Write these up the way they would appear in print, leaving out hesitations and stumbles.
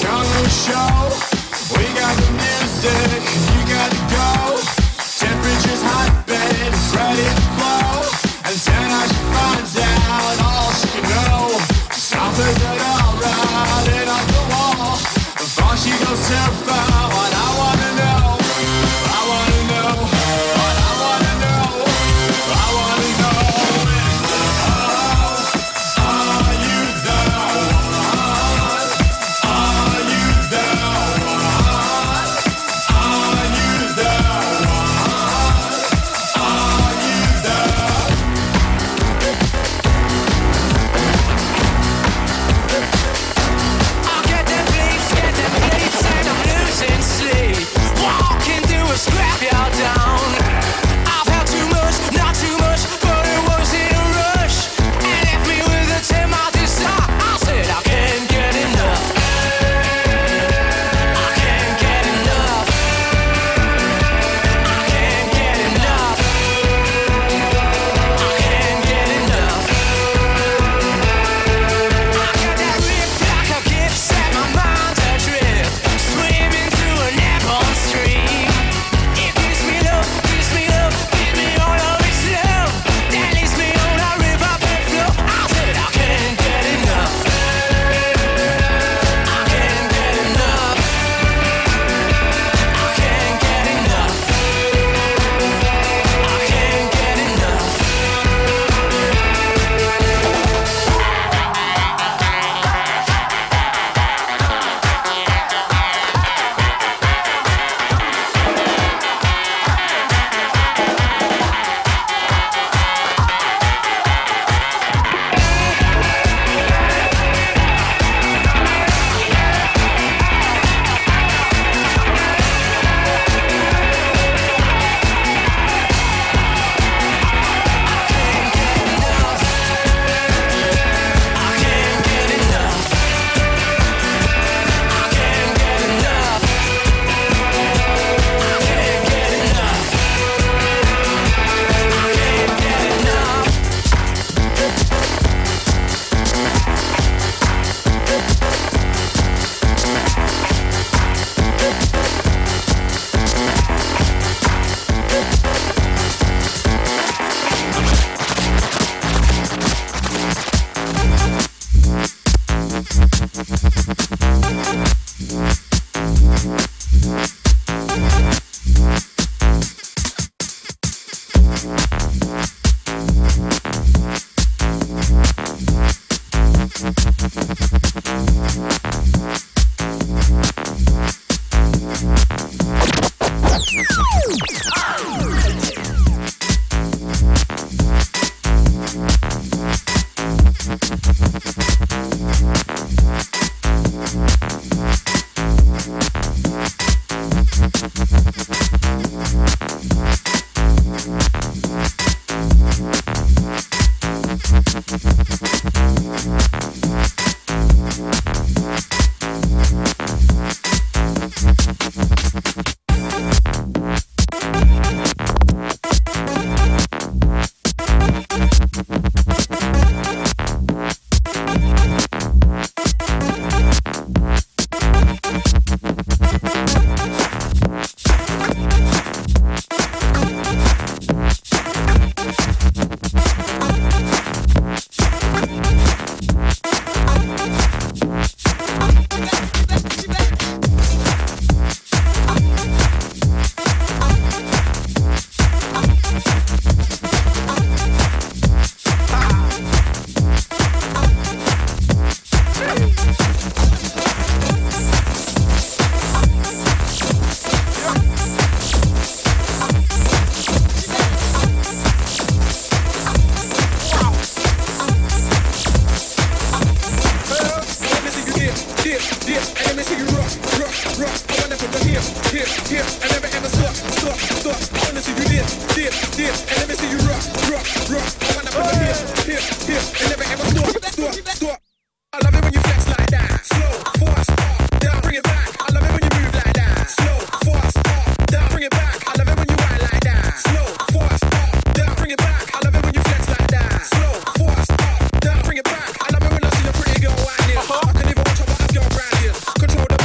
Control the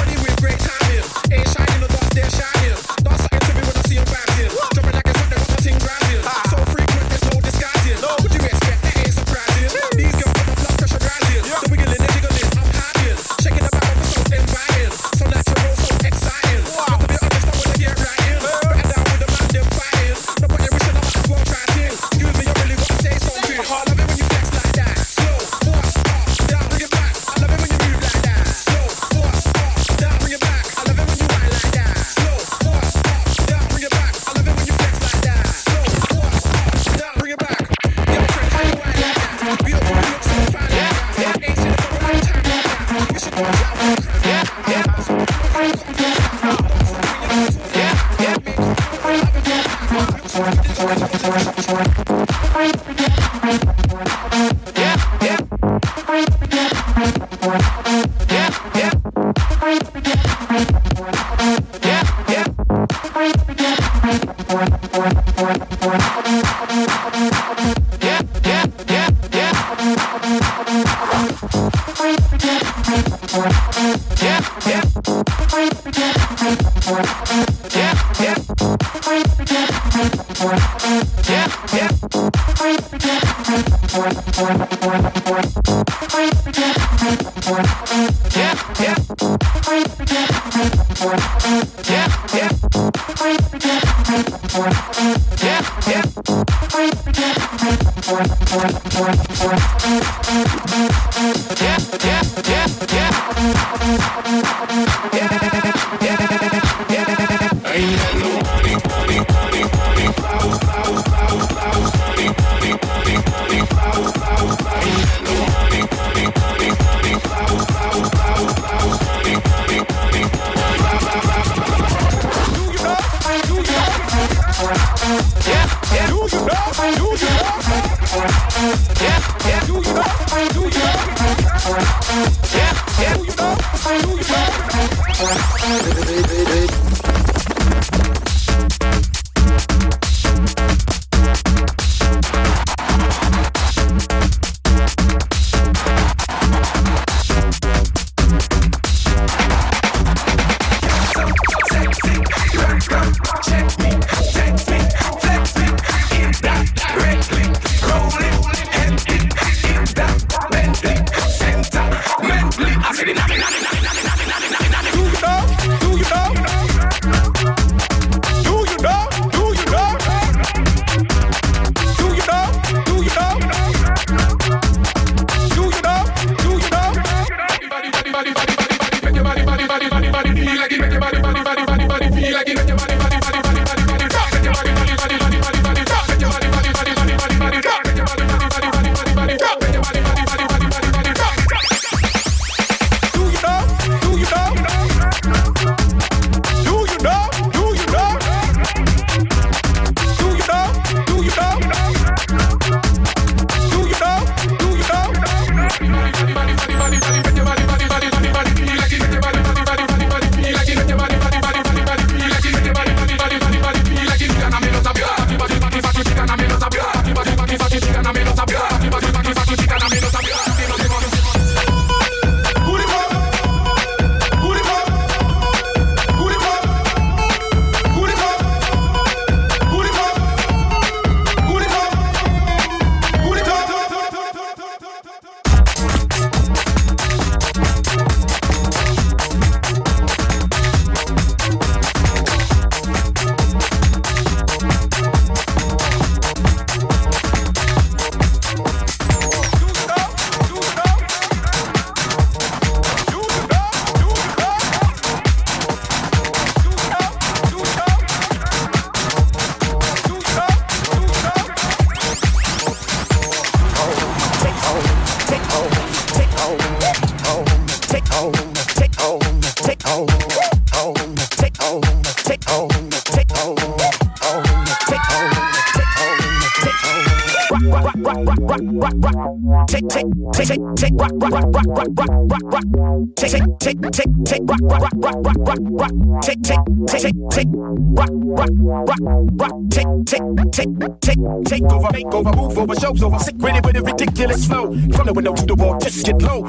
Take over, make over, move over, shows over. Sick with it with a ridiculous flow. From the window to the wall, just get low.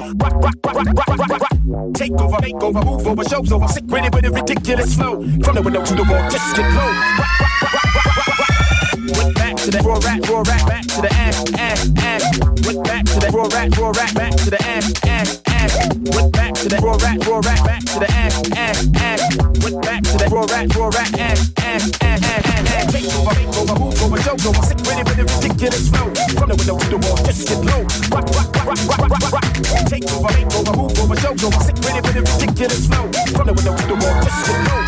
Take over, make over, move over, shows over. Sick with it with a ridiculous flow. From the window to the wall, just get low. Went back to that raw rap, back to the ass. Went back to that raw rap, back to the ass. Went back to that raw rap, back to the ass. Went back to that raw rap, ass. Take over, make over, move over, show over. Sick with it with a ridiculous flow. From the window to the wall, just get low. Take over, make over, move over, show over. Sick with it with a ridiculous flow. From the window to the wall, just get low.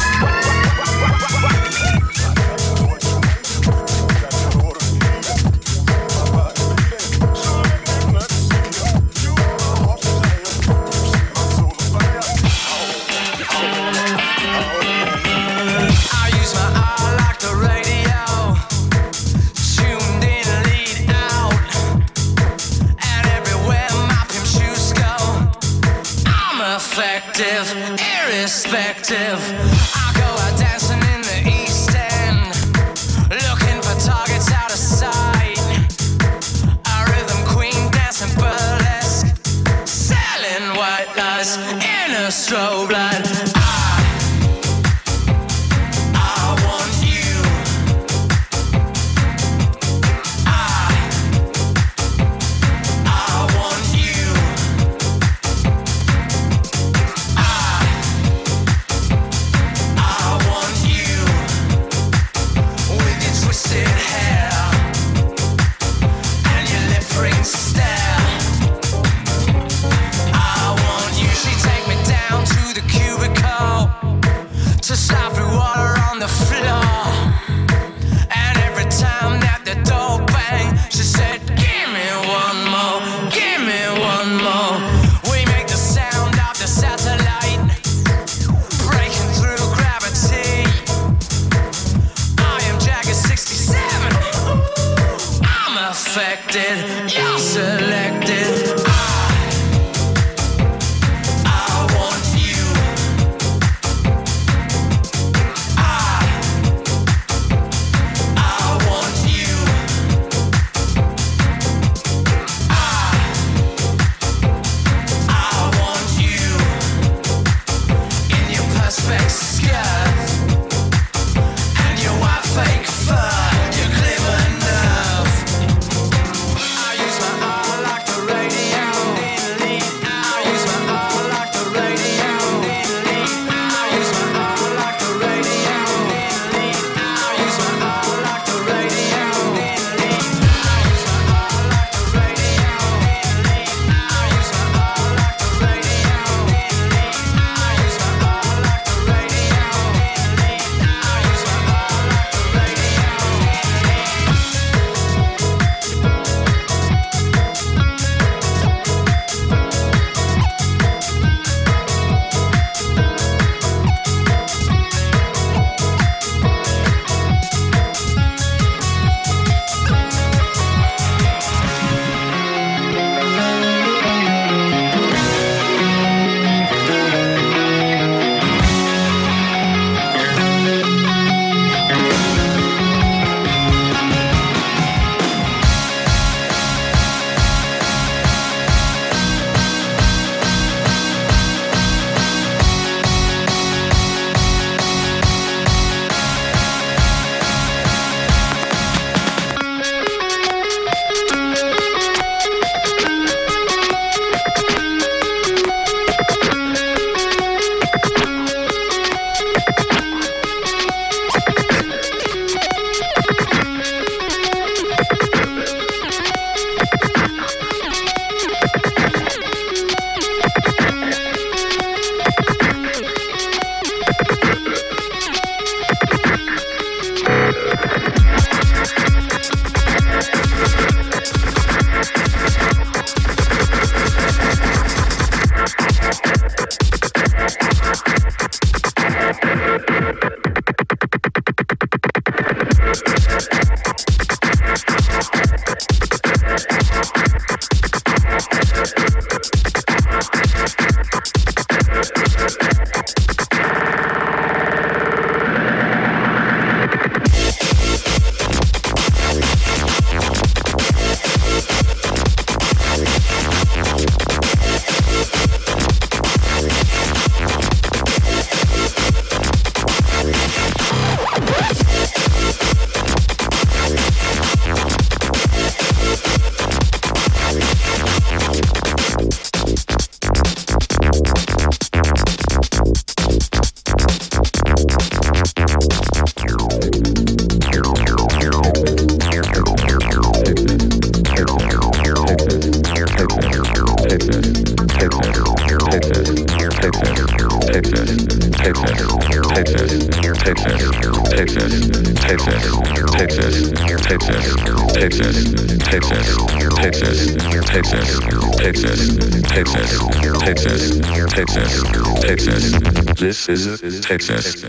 Irrespective, I go out dancing in the East End, looking for targets out of sight. A rhythm queen dancing burlesque, selling white lies in a strobe light. This is Texas.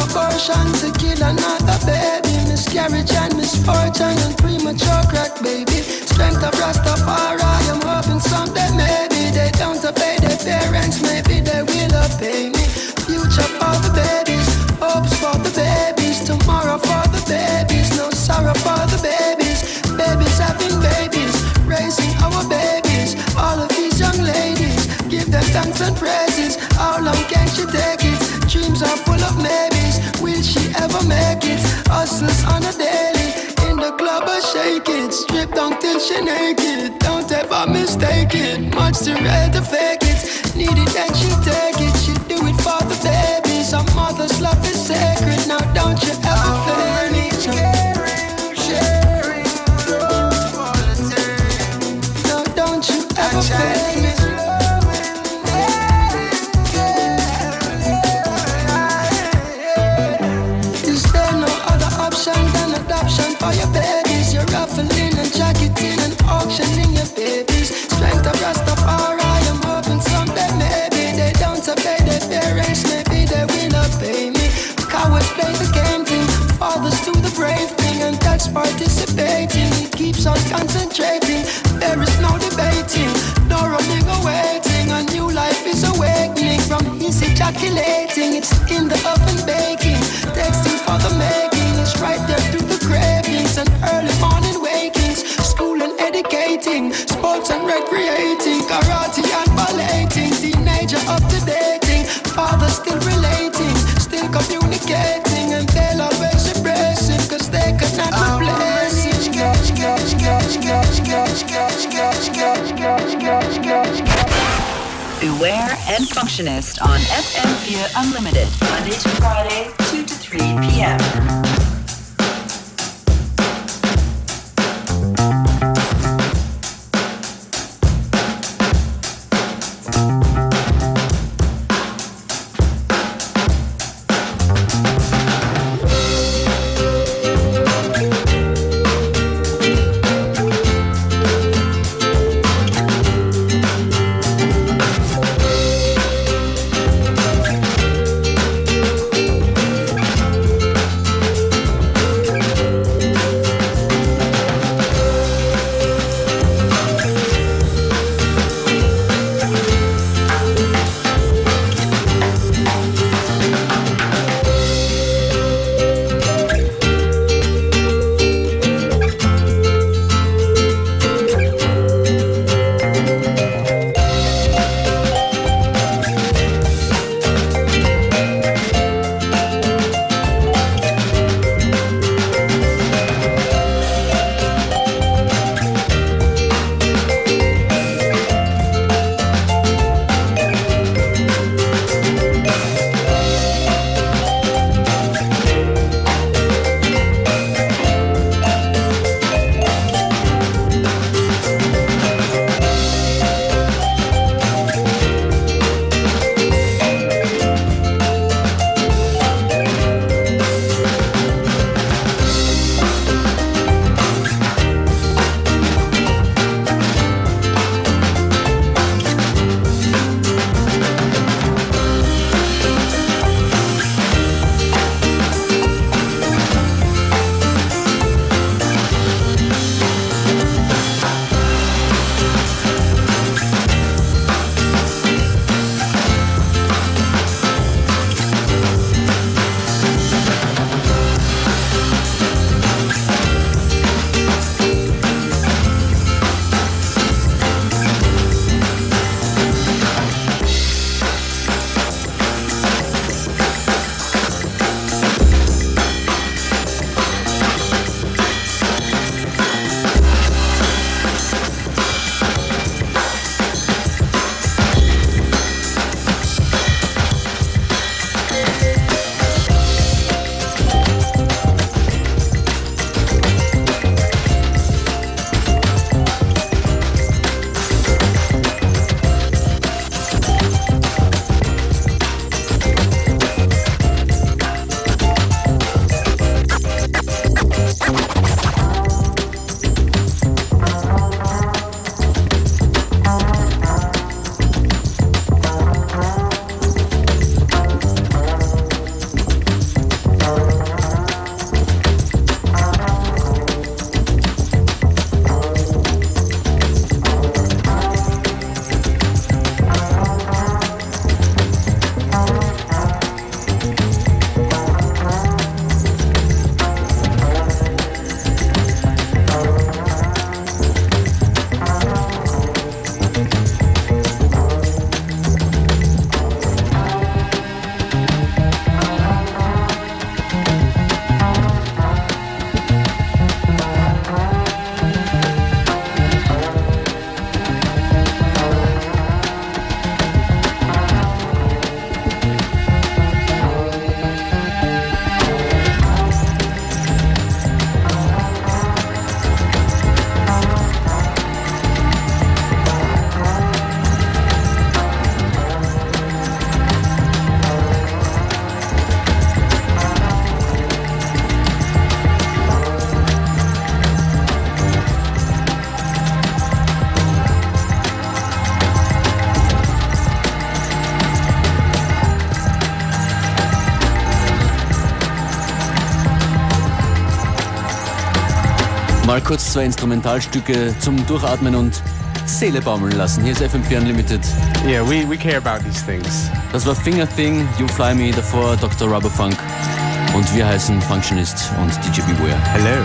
abortion to kill another baby. Miscarriage and misfortune and premature crack baby. Strength of Rastafari, I'm hoping someday maybe they don't obey their parents, maybe they will obey me. Future for the babies, hopes for the babies, tomorrow for the babies, no sorrow for the babies. Babies having babies, raising our babies. All of these young ladies, give them thanks and praises. How long can she take it? Dreams are full of maybes. Will she ever make it? Hustles on a daily, in the club I shake it. Strip down till she naked. Don't ever mistake it. Much too rare to fake it. Need it and she take it. She do it for the babies. Our mother's love is sacred. Now don't you ever fail me. Sharing love all the time. No, don't you ever fail me. Than adoption for your babies. You're ruffling and jacketing and auctioning your babies. Strength of Rastafari, I'm hoping someday maybe they don't obey their parents, maybe they will obey me. Cowards play the game thing, fathers do the brave thing, and that's participating. It keeps on concentrating, there is no debating, no running or waiting. A new life is awakening from his ejaculating. It's in the oven baking, texting for the making. Right there through the cravings and early morning wakings. School and educating, sports and recreating, karate and balleting. Teenager up to dating, father still relating, still communicating, and they'll always embrace him, cause they could not replace him. Beware and Functionist on FM4 Unlimited, Monday to Friday, 2 to 3 p.m. Mal kurz 2 Instrumentalstücke zum Durchatmen und Seele baumeln lassen. Hier ist FM4 Unlimited. Yeah, we care about these things. Das war Finger Thing, You Fly Me, davor Dr. Rubberfunk. Und wir heißen Functionist und DJ Beware. Hello.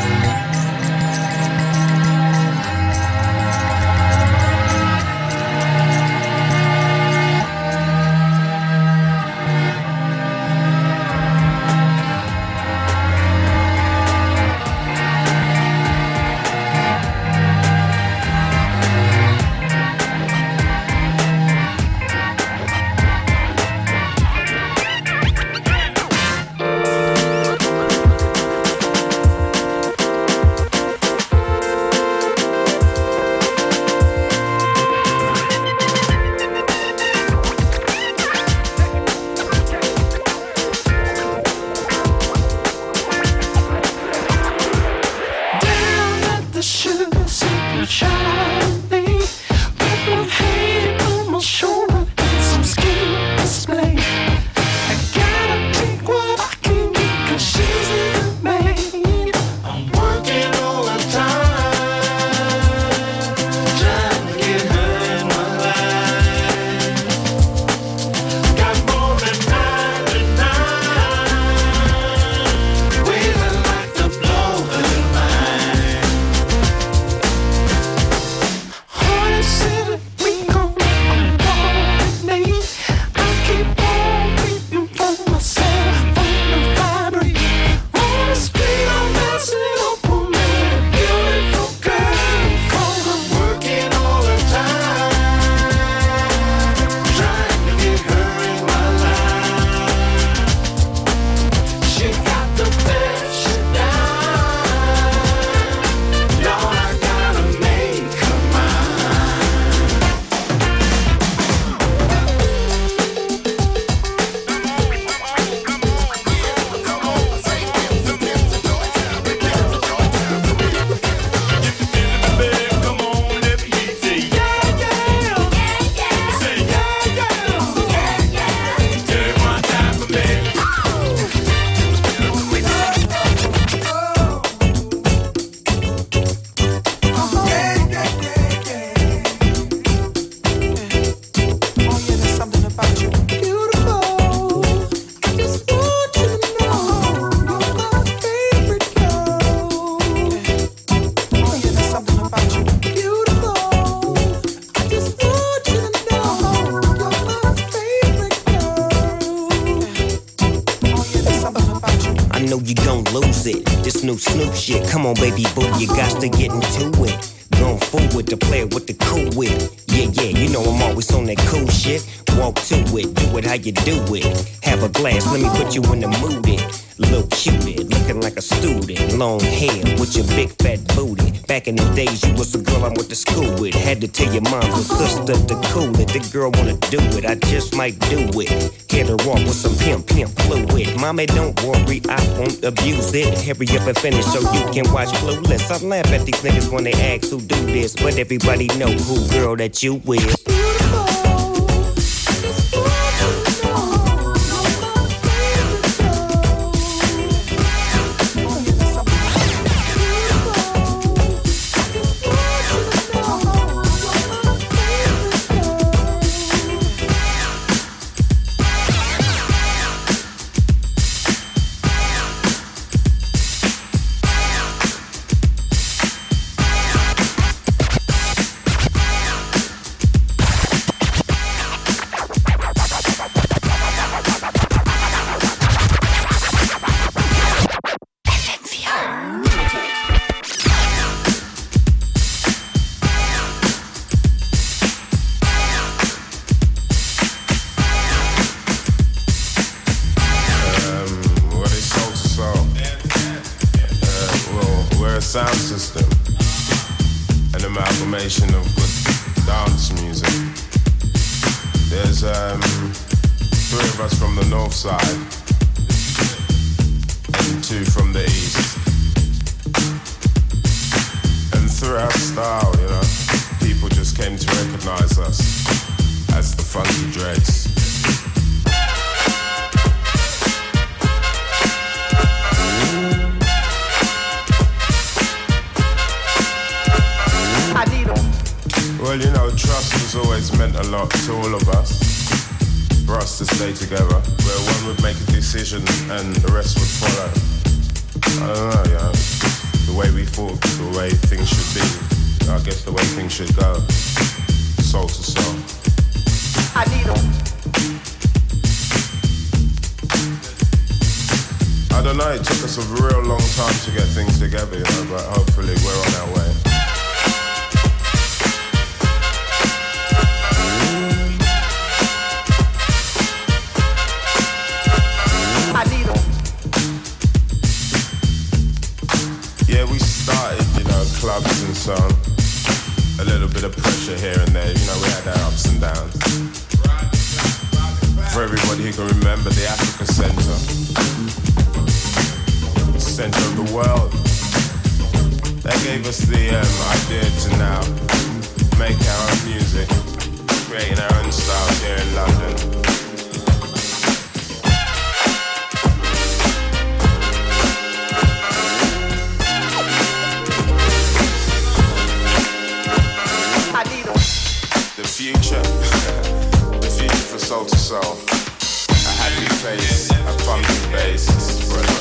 New Snoop shit. Come on, baby boo, you got to get into it. Going forward to play with the cool wit. Yeah, you know I'm always on that cool shit. Walk to it, do it how you do it. Have a glass, let me put you in the mood. Little cutie, looking like a student. Long hair with your big fat booty. Back in the days, you was a girl I went to school with. Had to tell your mom and sister to cool it. The girl wanna do it, I just might do it. Hit her off with some pimp fluid. Mommy, don't worry, I won't abuse it. Hurry up and finish so you can watch Clueless. I laugh at these niggas when they ask who do this, but everybody know who girl that you with. Sound system, an amalgamation of good dance music. There's 3 of us from the north side and 2 from the east. And through our style, you know, people just came to recognize us as the Funky Dreads. meant a lot to all of us, for us to stay together, where one would make a decision and the rest would follow. I don't know, yeah. The way we thought, the way things should be, I guess the way things should go, soul to soul. I need them. I don't know, it took us a real long time to get things together, you know, but hopefully we're on our way. I need them. Yeah, we started, you know, clubs and so on. A little bit of pressure here and there, you know, we had our ups and downs. For everybody who can remember the Africa Center of the world, that gave us the idea to now make our own music, creating our own styles here in London. The future for Soul to Soul, a happy face, a thumping bass.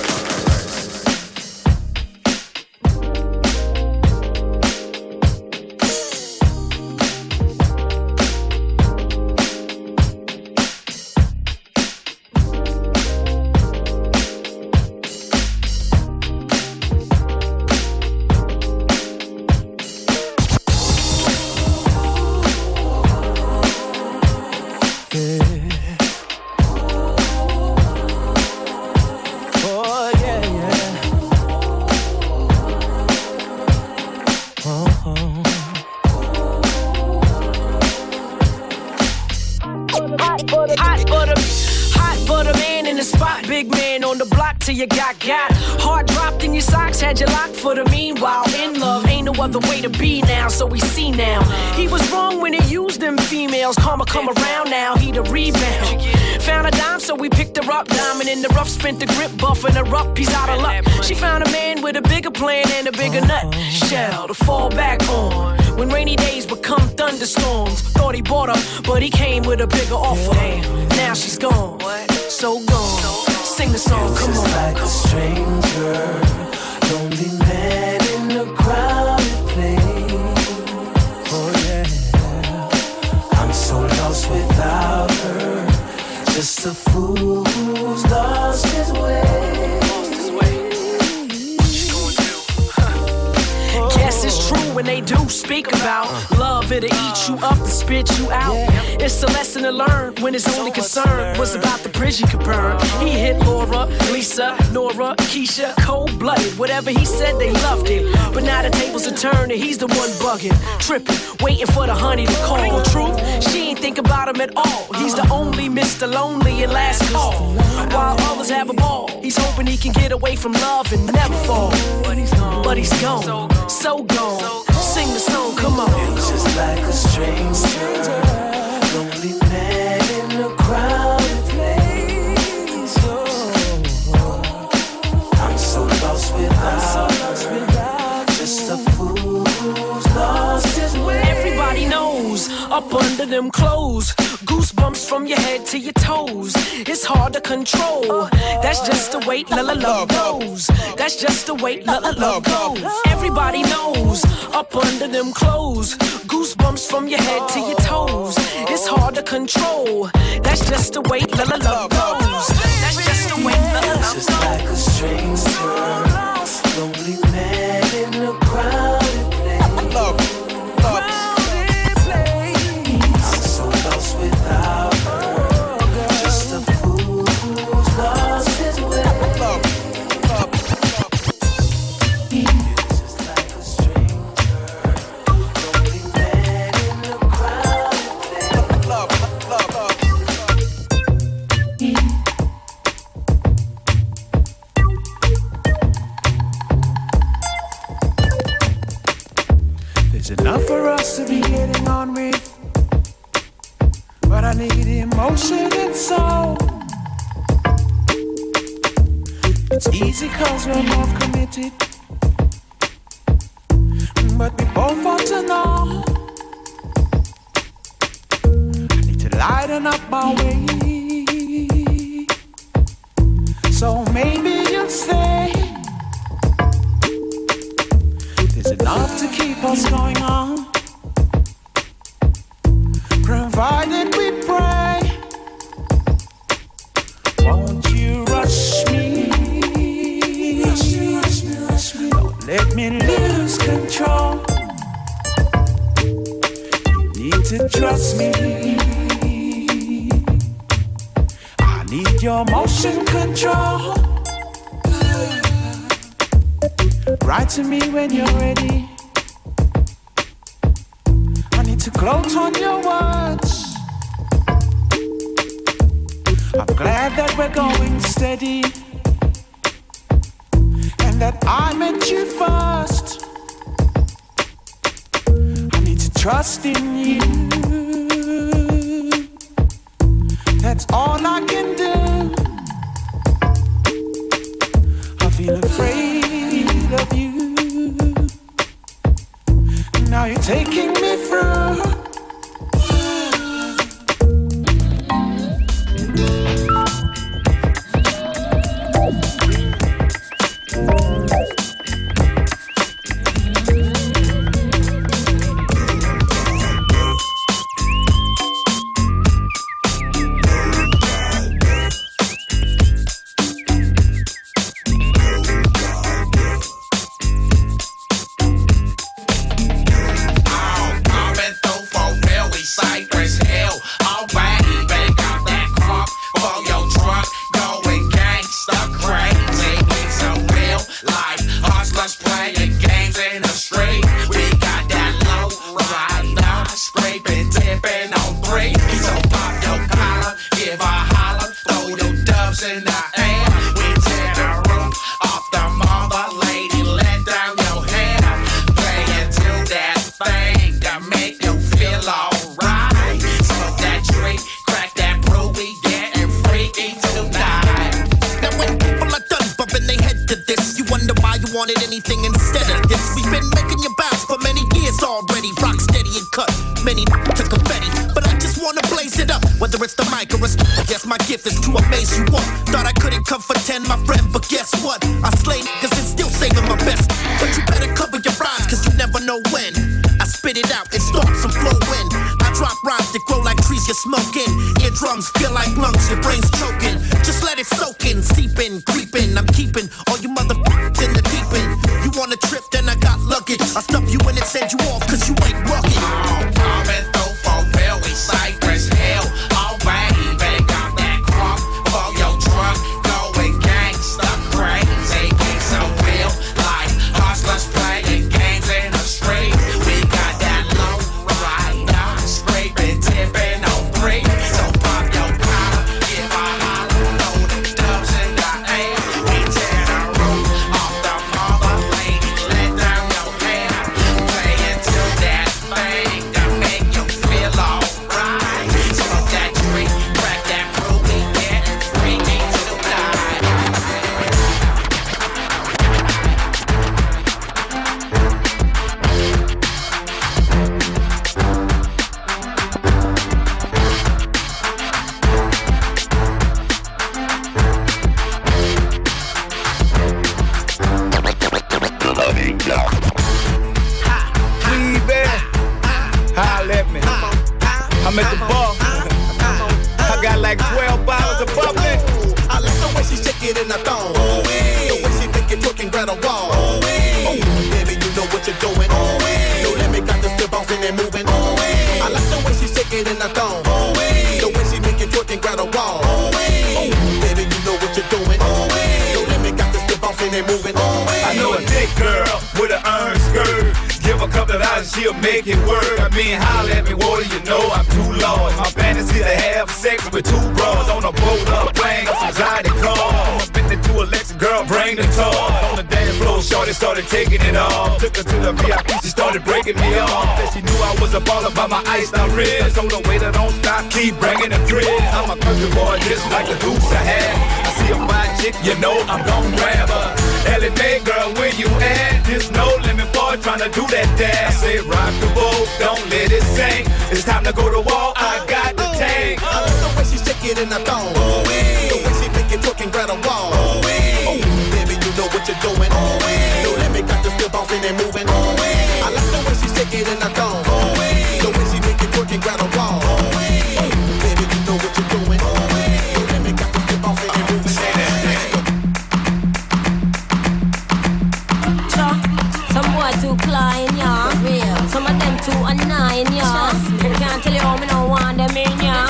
You got heart dropped in your socks, had you locked for the meanwhile. In love, ain't no other way to be now, so we see now. He was wrong when he used them females. Karma come around now, he the rebound. Found a dime, so we picked her up. Diamond in the rough, spent the grip, buffing her up. He's out of luck. She found a man with a bigger plan and a bigger nut shell to fall back on. When rainy days become thunderstorms, thought he bought her, but he came with a bigger offer. Now she's gone, so gone. Sing the song, come on. Like a stranger, lonely man in a crowded place. Oh yeah, I'm so lost without her. Just a fool who's lost his way. Guess it's true when they do speak about love, it'll eat you up and spit you out. It's a lesson to learn when his only concern was about the bridge he could burn. He hit Laura, Lisa, Nora, Keisha, cold-blooded. Whatever he said, they loved it. But now the tables are turned and he's the one bugging, tripping, waiting for the honey to call. Truth, she ain't think about him at all. He's the only Mr. Lonely and last call. While others have a ball, he's hoping he can get away from love and never fall. But he's gone, so gone. Sing the song, come on. It's just like a stranger, lonely man in a crowded place. I'm so lost without her. Just a fool who's lost his way. Everybody knows, up under them clothes, goosebumps from your head to your toes. It's hard to control. That's just the way love goes. That's just the way love goes. Everybody knows, up under them clothes, goosebumps from your head to your toes. It's hard to control. That's just the way love goes. That's just the way love goes. It's just like a stranger, lonely man in a crowded place. I'm so lost without her. Just a fool who's lost his way. It's just like a stranger, lonely man in a crowded There's enough for us to be getting on with, but I need emotion and soul. It's easy cause we're both committed, but we both want to know lighten up my way. So maybe you'll say there's enough to keep us going on, provided we pray. Won't you rush me? Don't let me lose control. You need to trust me. I need your motion control. Write to me when you're ready. I need to gloat on your words. I'm glad that we're going steady, and that I met you first. I need to trust in you. That's all I can do. I feel afraid of you. Now you're taking me through. She'll make it work. I mean, holla at me, what do you know? I'm too large. My fantasy to have sex with two bras on a boat up plane, some anxiety car. I'm been to Alexa, girl, bring the toy. On the dance floor, shorty started taking it off. Took her to the VIP, she started breaking me off. Said she knew I was a baller by my iced out wrist. Told her, wait, don't stop, keep bringing the thrill. I'm a country boy, just like the goose I had. I see a fine chick, you know I'm gon' grab her. Ellie Mae, girl, where you at? There's no limit, boy, tryna do that dance. I say rock the boat, don't let it sink. It's time to go to war, I got the tank. want them in ya.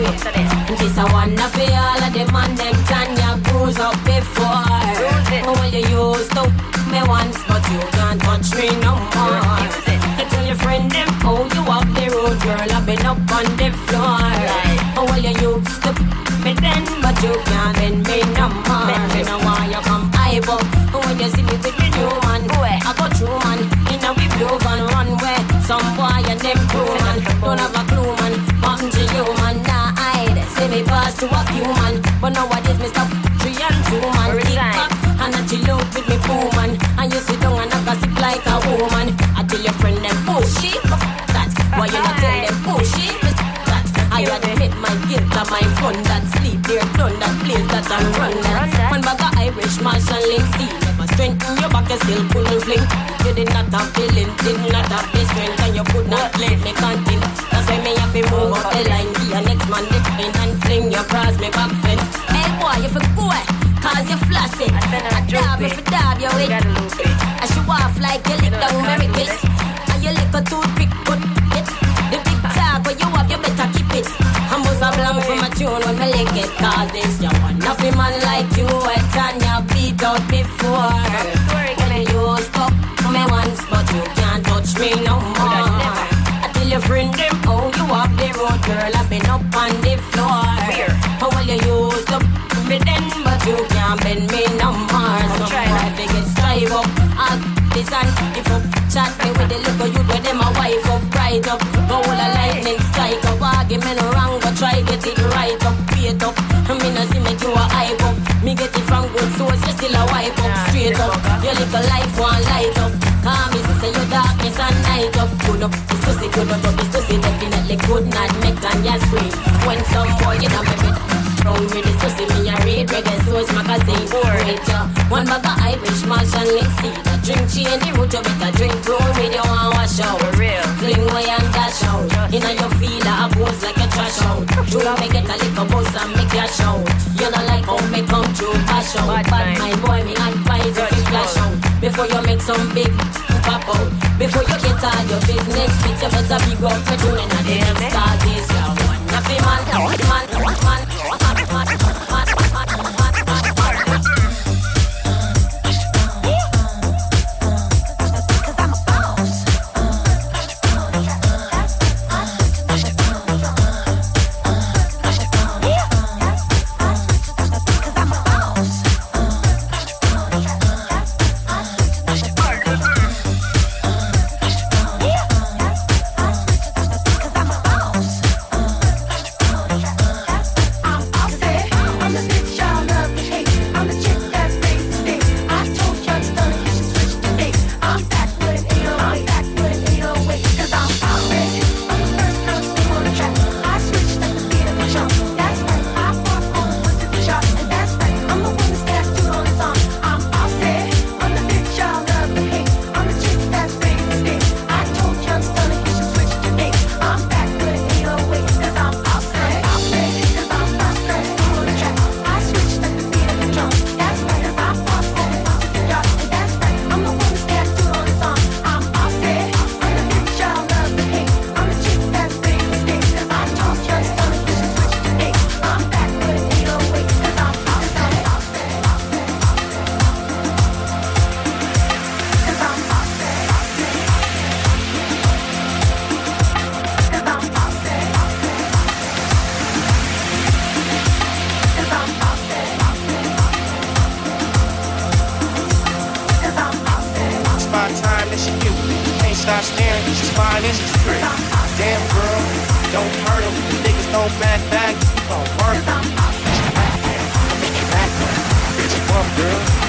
This a one of all of them and them Tanya bruise up before. Well, you used to me once, but you can't touch me no more. You tell your friend them, oh, you up the road, girl, I've been up on the floor. Well, you used to me then, but you can't bend me no more. Me no want you come hype up. When you see me with the new man, I go through man. In a we blue van runway. Some boy and them crew man, don't have a clue man. Happen to you man, nah hide. Say me pass to a few man, but nowadays me stop 3 and 2 man. Kick back and I chill out with me poo man. And you sit down and I gossip like a woman. I tell your friend them pushy that. Why you not tell them pushy that? I admit my guilt and my fun that sleep there done that place that I run that. One bag of Irish Marshall Link see. Never strengthen your back and still pull and fling. You did not have feeling, did not have the strength, and you could not let me continue. That's why me have to move up the line. Be a next man the pain and fling your cross me back fence. Hey boy, you for go, cause you flossy. I dab if you dab your way. I show off like you lick down miracles. And you lick a toothpick, put it. The big tag where you have, you better keep it. I must have long for my tune when me lick it. Cause this you want nothing man like you. And Tanya beat out before. When you stop me once, but you can't touch me no more. I tell your friend them, oh, you up the road, girl, I've been up on the floor. Oh, well, you used to me then, but you can't bend me no more. So I figure strive up, I'll this and if you chat me with the little youth where them a wife up, right up. Go all a lightning strike up, argument wrong, but try get it right up, wait up. I mean, I see make you a hype up. Me get it from good source, you still a wipe up, straight up. Your little life one light up. Call me, say your darkness and night up. Good up, this pussy good up, this pussy definitely could not make Tanya scream. When some boy in a baby round with this pussy, me a read reggae source magazine. Great, one bag of Irish Marshall Link seed. A drink chain the root, you better drink brown with you and wash out. For real. Fling away and dash out. Inna your feeler, a pose like a trash out. True, me get a little buzz and make you shout. You know like how me come through cash out. Bad my boy, me advise if you flash out. Before you make some big pop out. Before you get all your business fit, you better be go for tuning and the next start this. Nothing man. Stop staring, she's fine and she's pretty. Damn girl, don't hurt him. The niggas don't back, you gon' work him. Bitch, bump girl.